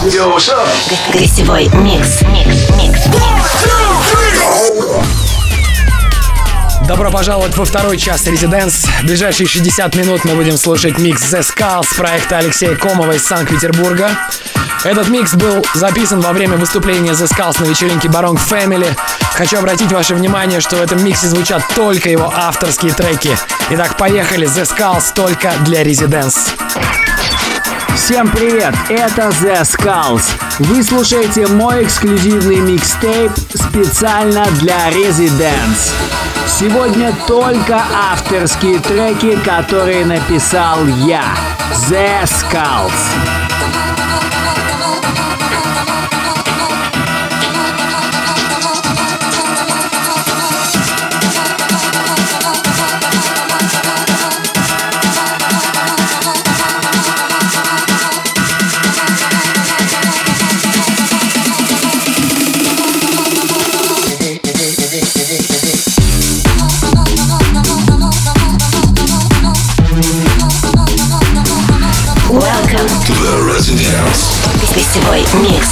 Гостевой микс. Добро пожаловать во второй час Residence. В ближайшие 60 минут мы будем слушать микс The Skulls проекта Алексея Комова из Санкт-Петербурга. Этот микс был записан во время выступления The Skulls на вечеринке Barong Family. Хочу обратить ваше внимание, что в этом миксе звучат только его авторские треки. Итак, поехали. The Skulls только для Residence. Всем привет, это The Skulls. Вы слушаете мой эксклюзивный микстейп специально для Residence. Сегодня только авторские треки, которые написал я, The Skulls. Гостевой микс.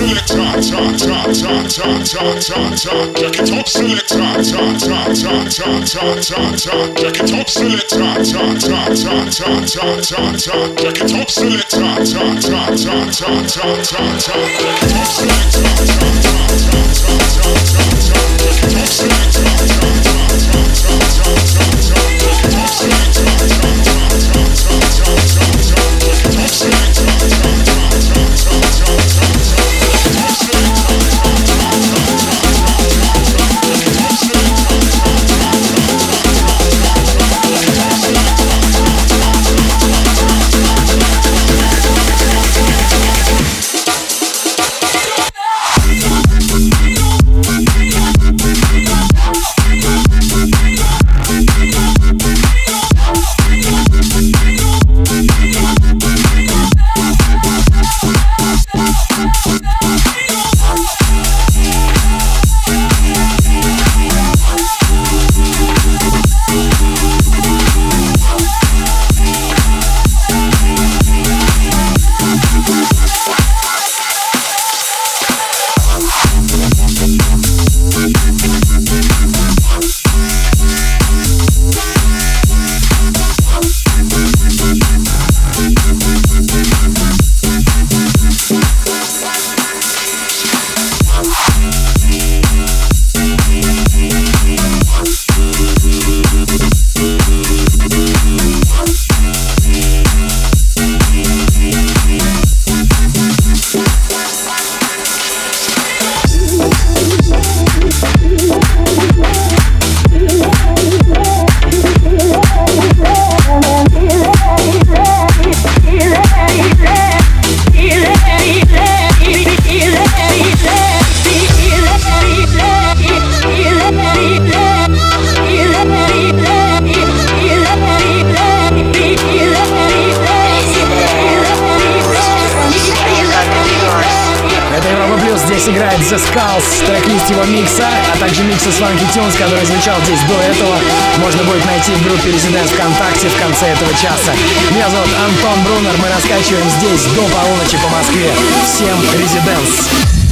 играет The Skulls, трек-лист его микса, а также микса Swanky Tunes, который звучал здесь до этого, можно будет найти в группе Residents ВКонтакте в конце этого часа. Меня зовут Антон Брунер, мы раскачиваем здесь до полуночи по Москве. Всем Residents!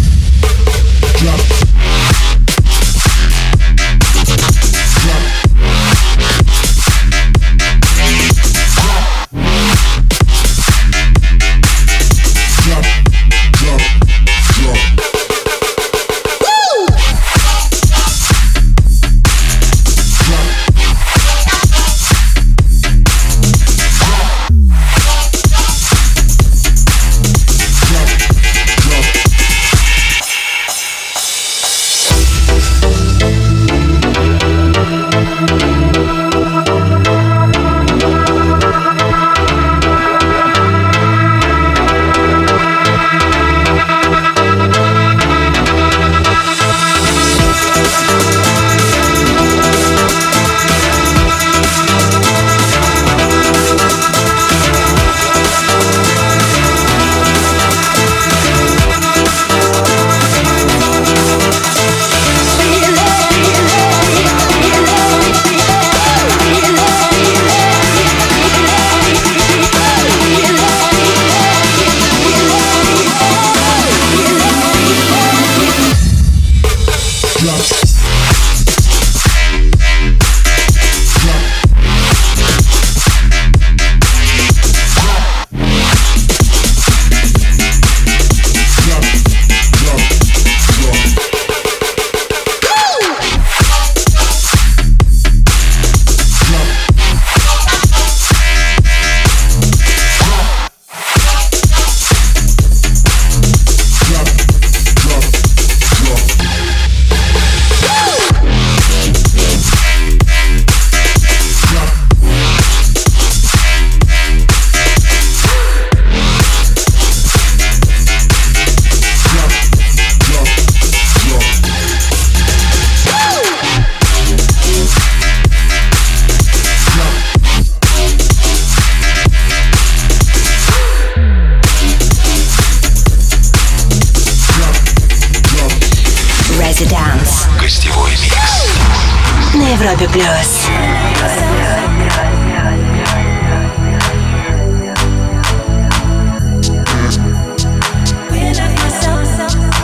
Гостевой микс на Европе Плюс. When I hear some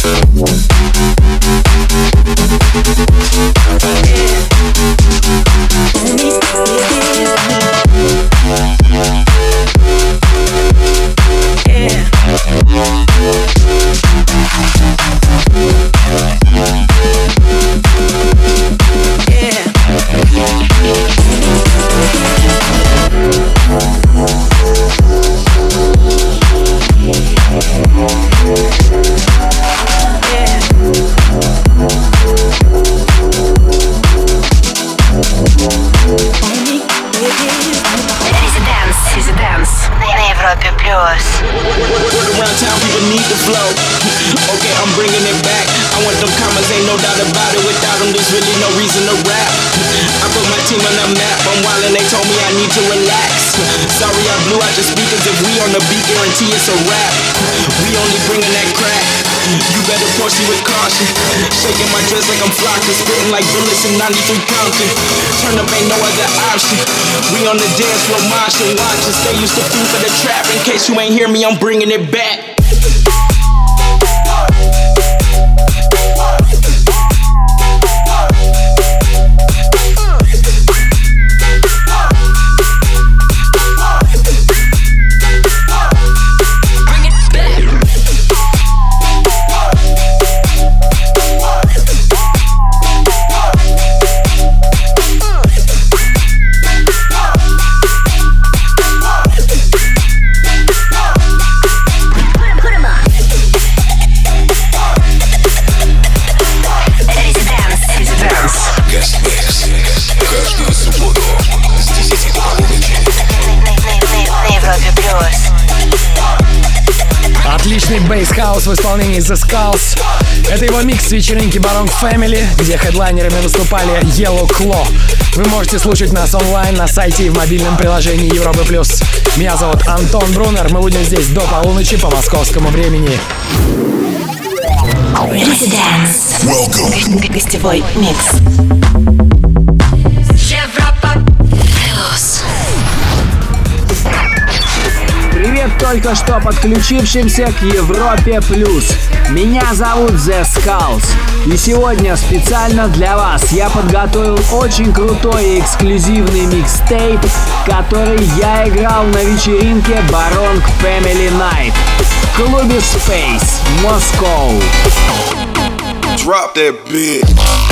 It's a wrap. We only bringing that crack. You better proceed with caution. Shaking my dress like I'm flocking, spitting like bullets in 93 Compton. Turn up, ain't no other option. We on the dance floor, moshing, watching. Stay used to food for the trap. In case you ain't hear me, I'm bringing it back. Отличный бейс-хаус в исполнении The Skulls. Это его микс с вечеринки Barong Family, где хедлайнерами выступали Yellow Claw. Вы можете слушать нас онлайн на сайте и в мобильном приложении Европы+. Меня зовут Антон Брунер. Мы будем здесь до полуночи по московскому времени. Residence. Гостевой микс. Привет только что подключившимся к Европе Плюс. Меня зовут The Skulls. И сегодня специально для вас я подготовил очень крутой и эксклюзивный микстейп, который я играл на вечеринке Barong Family Night в клубе Space, Москва. Drop that bitch.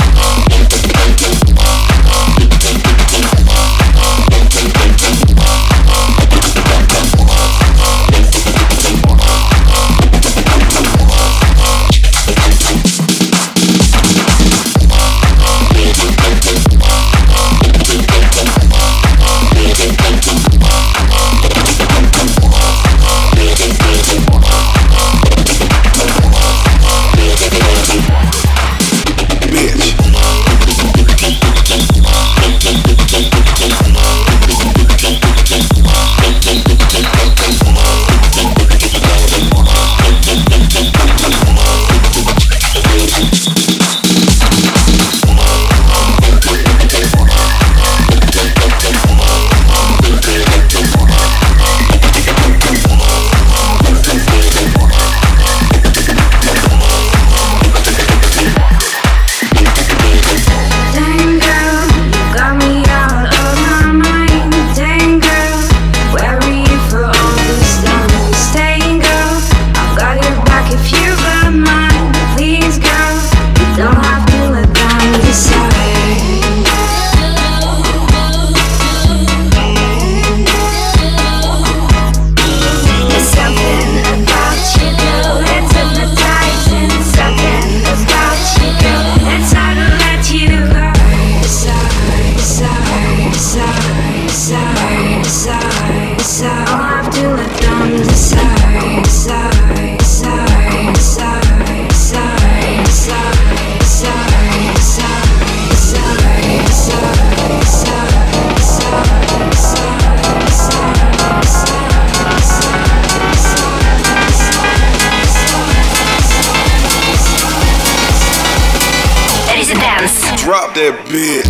Drop that bitch.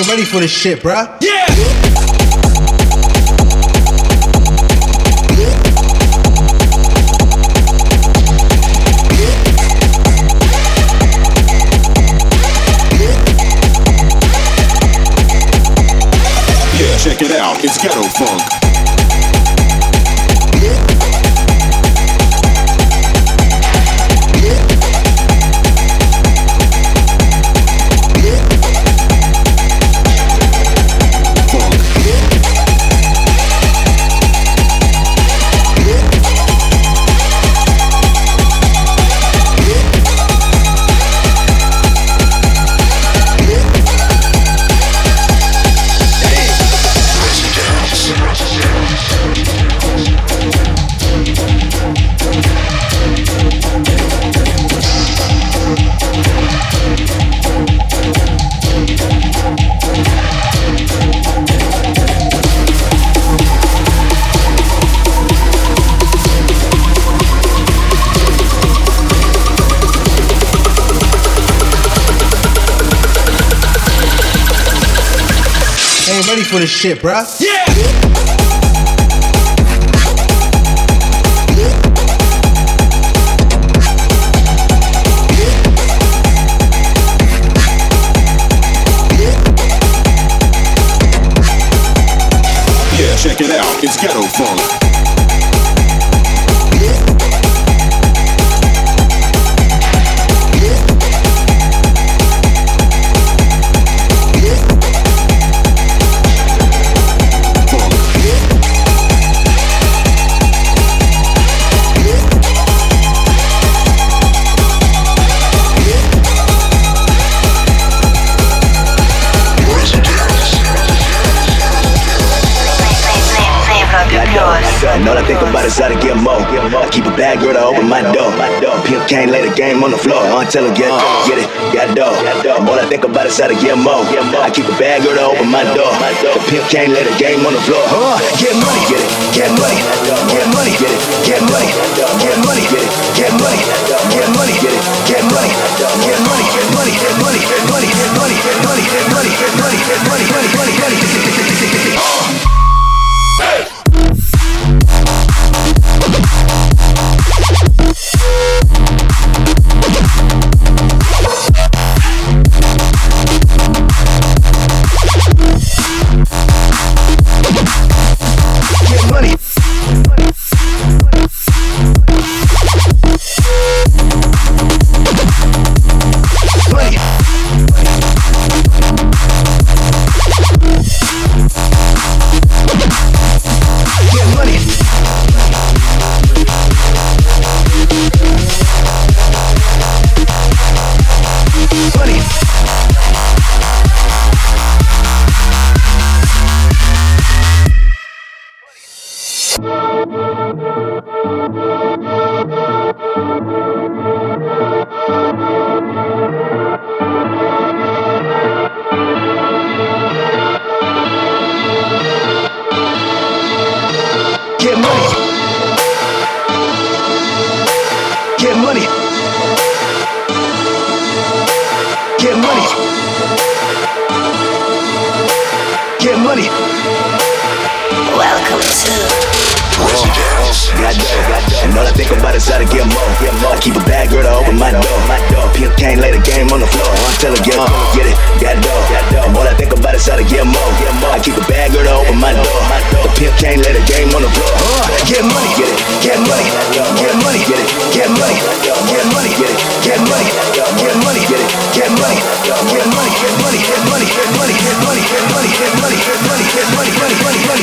ready for this shit, bruh? Yeah! Check it out, it's Ghetto Funk. Ready for this shit, bruh? Yeah! Check it out, it's Ghetto Funk. All I think about is how to get more. I keep a bad girl to open my door. Pimp can't lay the game on the floor. Until I get it, got dough. All I think about is how to get more. I keep a bad girl to open my door. The pimp can't lay the game on the floor. Get money, get it, get money, get money, get it, get money, get money, get it, get money, get money, get it, get money, get money, get money, get money, get money, get money, get money, get money, get money, get money, money, money, money. Welcome to Got dough, and all I think about is how to get more. I keep a bad girl to open my door. Pimp can't lay the game on the floor until I get it, got dough. And all I think about is how to get more. I keep a bad girl to open my door. The pimp can't lay the game on the floor. Get money, get it, get money, get money, get it, get money, get money, get it, get money, get money, get it, get money, get money, get money, get money, get money, get money, get money, get money, get money, get money, money.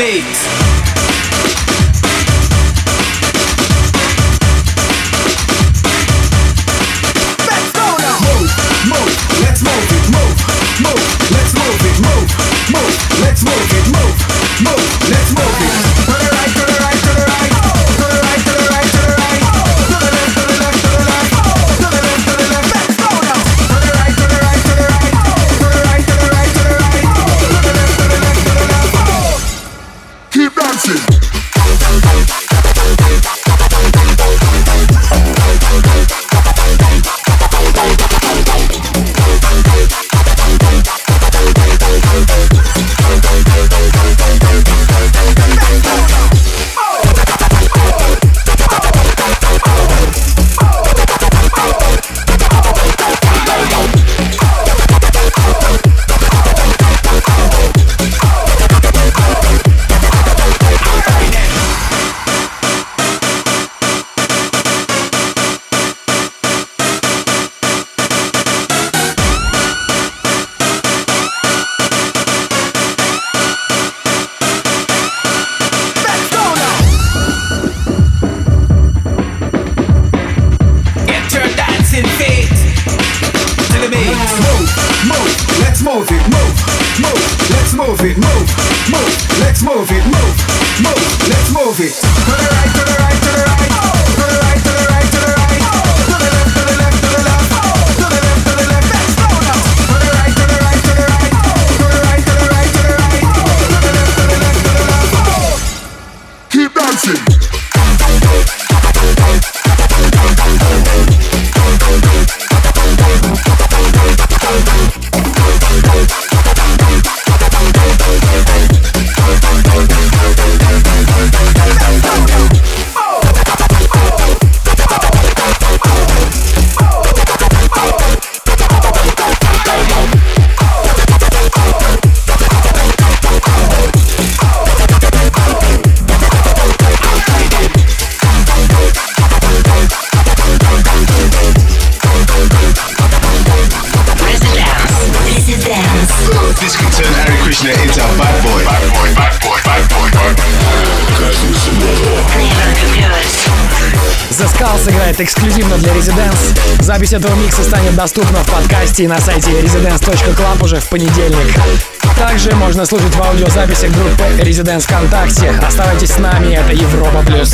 Сыграет эксклюзивно для Residence. Запись этого микса станет доступна в подкасте и на сайте residence.club уже в понедельник. Также можно слушать в аудиозаписях группы Residence ВКонтакте. Оставайтесь с нами, это Европа Плюс.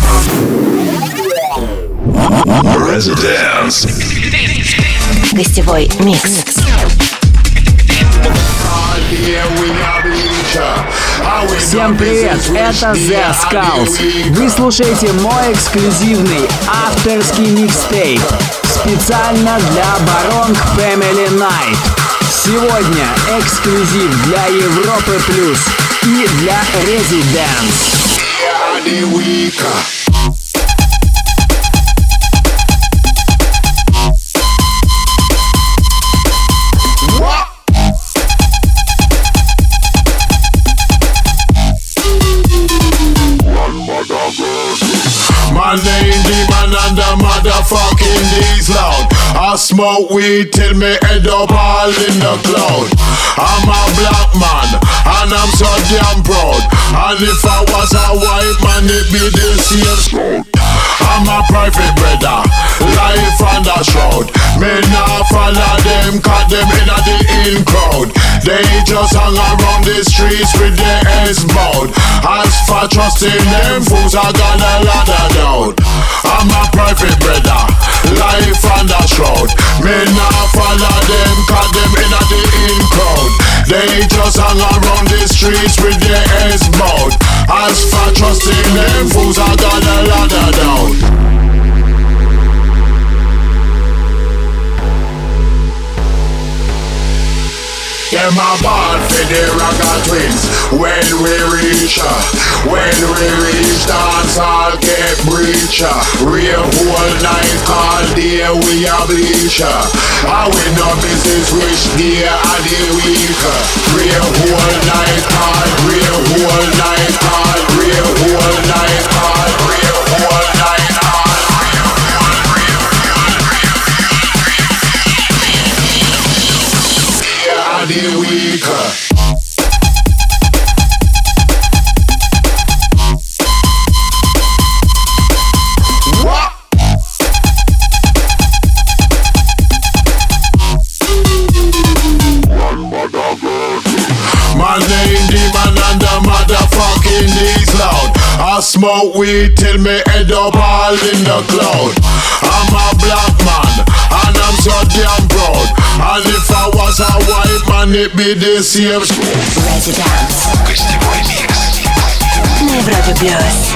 Residence. Гостевой микс. Всем привет, это The Skulls. Вы слушаете мой эксклюзивный авторский микстейп специально для Baronk Family Night. Сегодня эксклюзив для Европы Плюс и для Residence. My name Demon and the motherfucking D's loud. I smoke weed till me head up all in the cloud. I'm a black man and I'm so damn proud. And if I was a white man it be the same scout. I'm a private brother, life on the shroud. Me nah follow them cause them in the in crowd. They just hang around the streets with their heads bowed. As for trusting them fools I got a lot of doubt. I'm a private brother, life on the shroud. Me nah follow them cause them in the in crowd. They just hang around the streets with their heads bowed. As for trusting them fools I got a lot of doubt. Them a ball for the Ragga Twins. When we reach dance all get breacher. Real whole night all day we a bleacher. And we no business which day of the week. Real whole night all, real whole night all, real whole night all, real whole night all. The week. loud. I smoke weed till me head up all in the cloud. I'm a black man and I'm so damn proud. And if I was a white man, it be the same. Residence. Гостевой микс На Европе Плюс.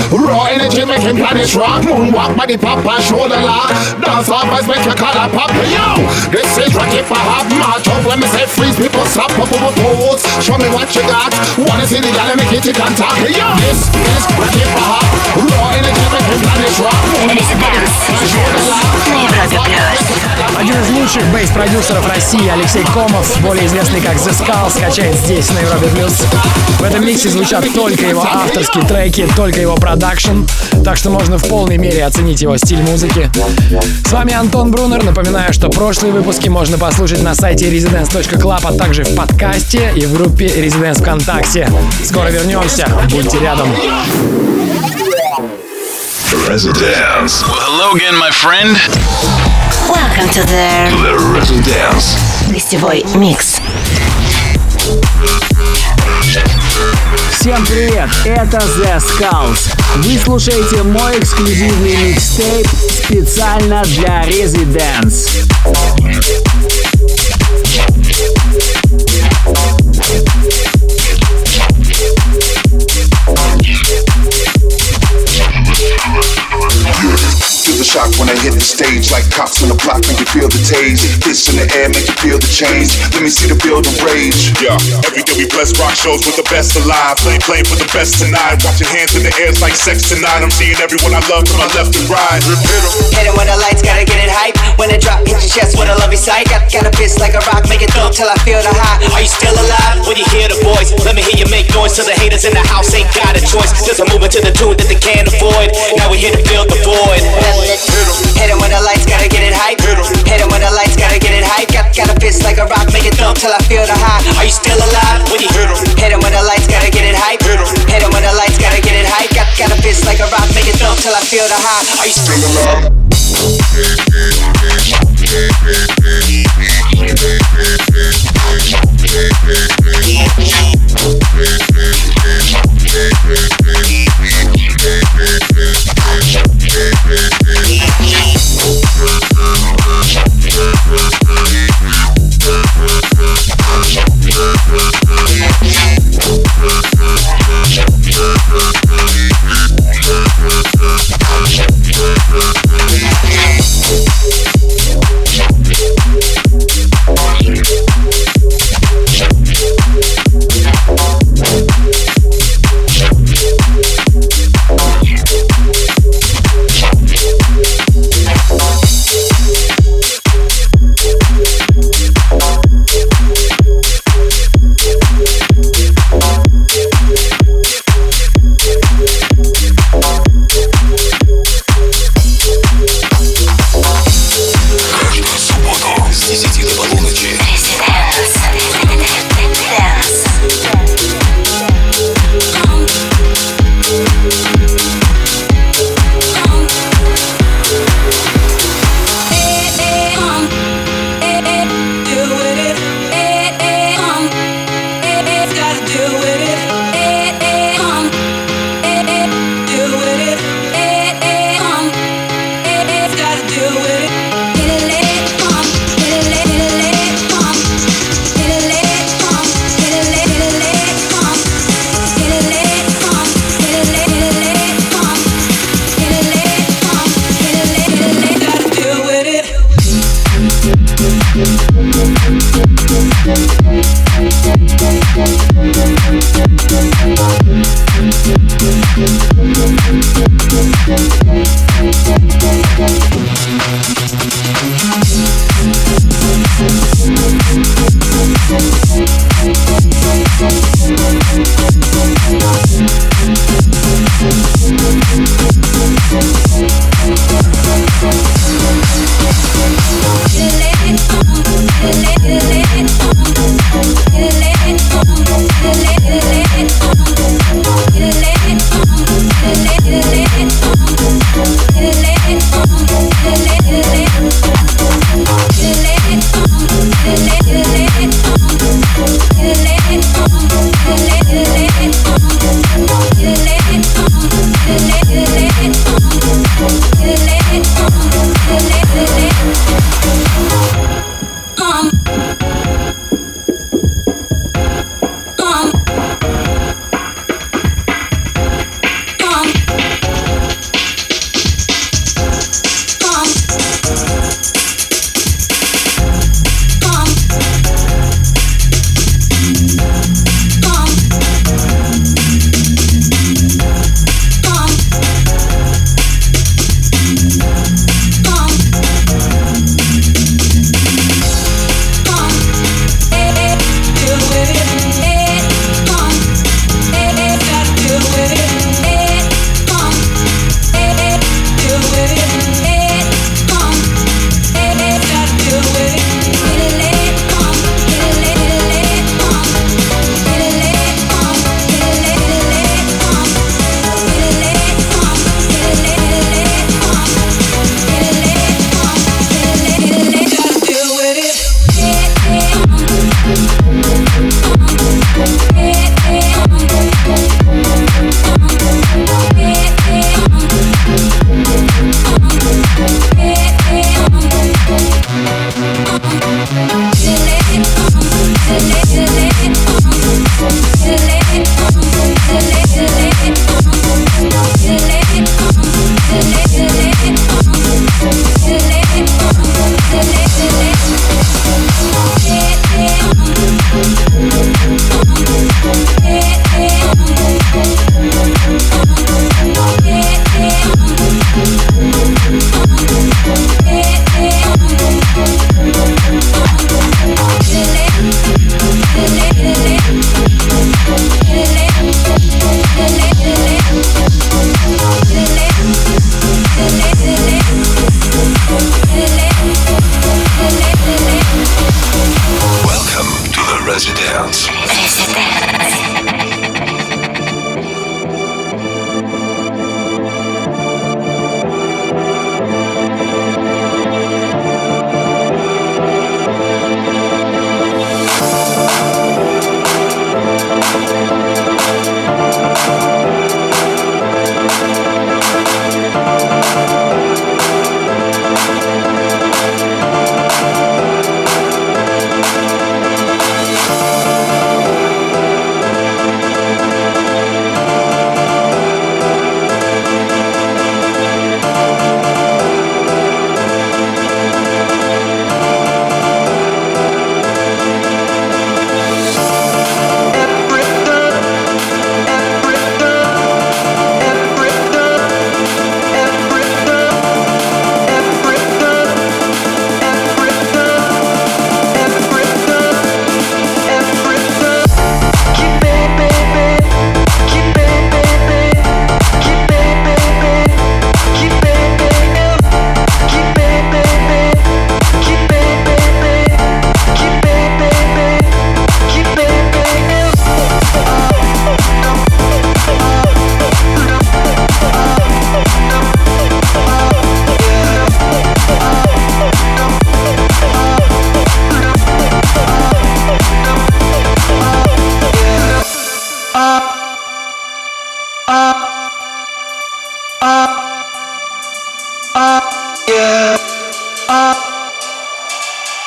Raw energy make him planet rock. Moonwalk, body pop and shoulder lock. Dance off as make your collar pop. Yo, this is Rocky for hop. March up when me say freeze, people stop up over pose. Show me what you got. Wanna see the gal and make it tick and talk. Yo, this is Rocky for hop. Raw energy make him planet rock. Резиденс на Европе Плюс. Один из лучших бейс-продюсеров России Алексей Комов, более известный как The Skull, скачает здесь на Европе Плюс. В этом миксе звучат только его авторские треки, только его продакшн, так что можно в полной мере оценить его стиль музыки. С вами Антон Брунер. Напоминаю, что прошлые выпуски можно послушать на сайте residence.club, а также в подкасте и в группе Residence ВКонтакте. Скоро вернемся, будьте рядом. Residence. Well, hello again, my friend. Welcome to the Residence. гостевой микс. Всем привет, это The Skulls. Вы слушаете мой эксклюзивный микстейп специально для Residence. Feel the shock when I hit the stage, like cops on the block, make you feel the tase. Fists in the air, make you feel the change. Let me see the building rage. Yeah, every day we bless rock shows with the best alive. Playing for the best tonight. Watching hands in the air, it's like sex tonight. I'm seeing everyone I love to my left and right. Hit it when the lights, gotta get it hype. When it drop, hit your chest with a lovely sight. Got a fist like a rock, make it thump till I feel the high. Are you still alive? When you hear the voice, let me hear you make noise. So the haters in the house ain't got a choice. Cause I'm moving to the tune that they can't avoid. Now we here to fill the void. Hit it when the lights, gotta get it hype. Hit it when the lights, gotta get it hype. Got a fist like a rock, make it thump till I feel the high. Are you still alive? When you hit it when the lights, gotta get it hype. Hit it when the lights, gotta get it hype. Got a fist like a rock, make it thump till I feel the high. Are you still alive?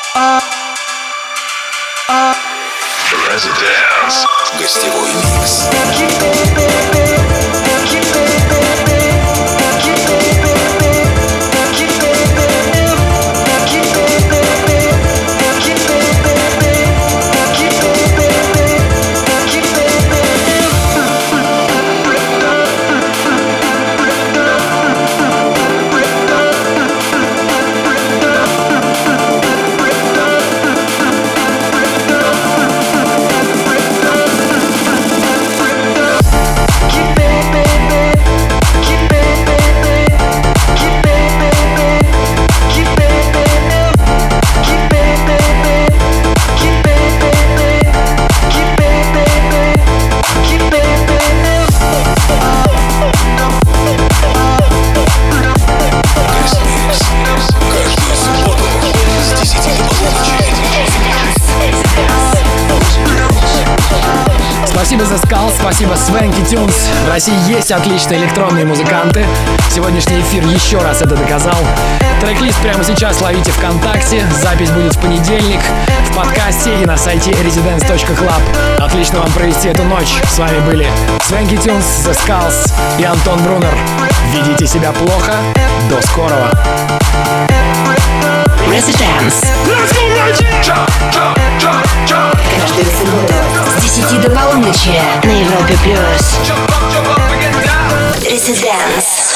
Residence. Гостевой микс. Спасибо The Skulls, спасибо Swanky Tunes. В России есть отличные электронные музыканты. Сегодняшний эфир еще раз это доказал. Трек-лист прямо сейчас ловите ВКонтакте. Запись будет в понедельник в подкасте и на сайте residence.club. Отлично вам провести эту ночь. С вами были Swanky Tunes, The Skulls и Антон Брунер. Ведите себя плохо. До скорого. Residence. Каждую субботу с 10 до полуночи на Европе+. Residence.